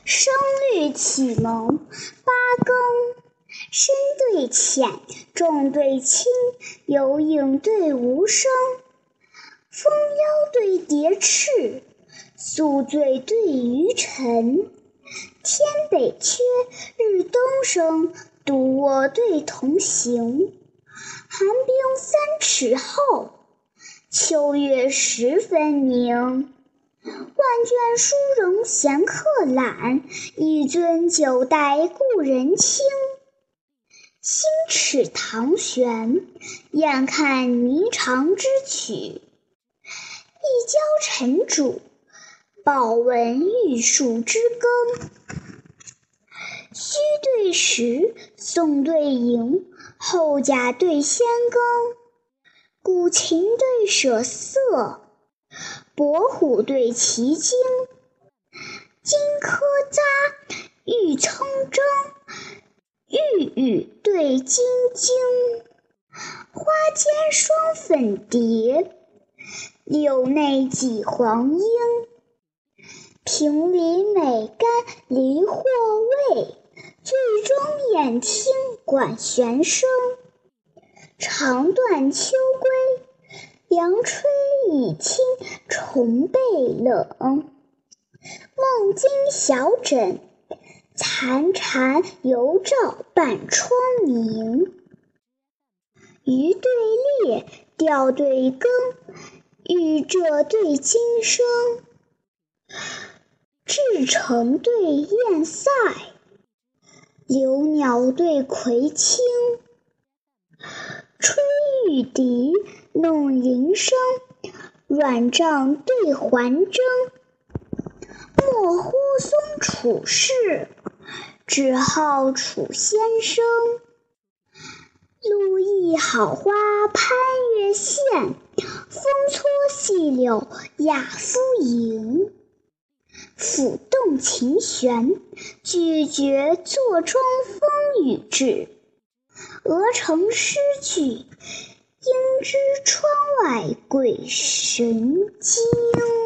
声律启蒙八更，深对浅，重对轻，有影对无声，风腰对蝶翅，宿醉对鱼沉。天北缺，日东升，独卧对同行。寒冰3尺厚，秋月时分明。万卷书容闲客懒，一樽酒待故人倾。星尺堂悬，燕看霓裳之曲。一交尘主，报闻玉树之耕。虚对实，宋对赢，后甲对先庚。古琴对舍色，伯虎对奇经。金科匝，玉铮铮，玉宇对金晶。花间双粉蝶，柳内几黄莺。平里美干离或味，剧中演听管弦声。长断秋归，凉吹已听虫背冷。梦惊小枕，残蝉犹照半窗明。鱼对猎，钓对羹，玉蔗对金声。至诚对燕塞，留鸟对葵青。吹玉笛，弄铃声，软帐对环筝。莫呼松楚士，只好楚先生。路易好花攀月线，风搓细柳亚夫营。抚动琴弦，拒绝座中风雨至。鹅城诗句，应知窗外鬼神惊。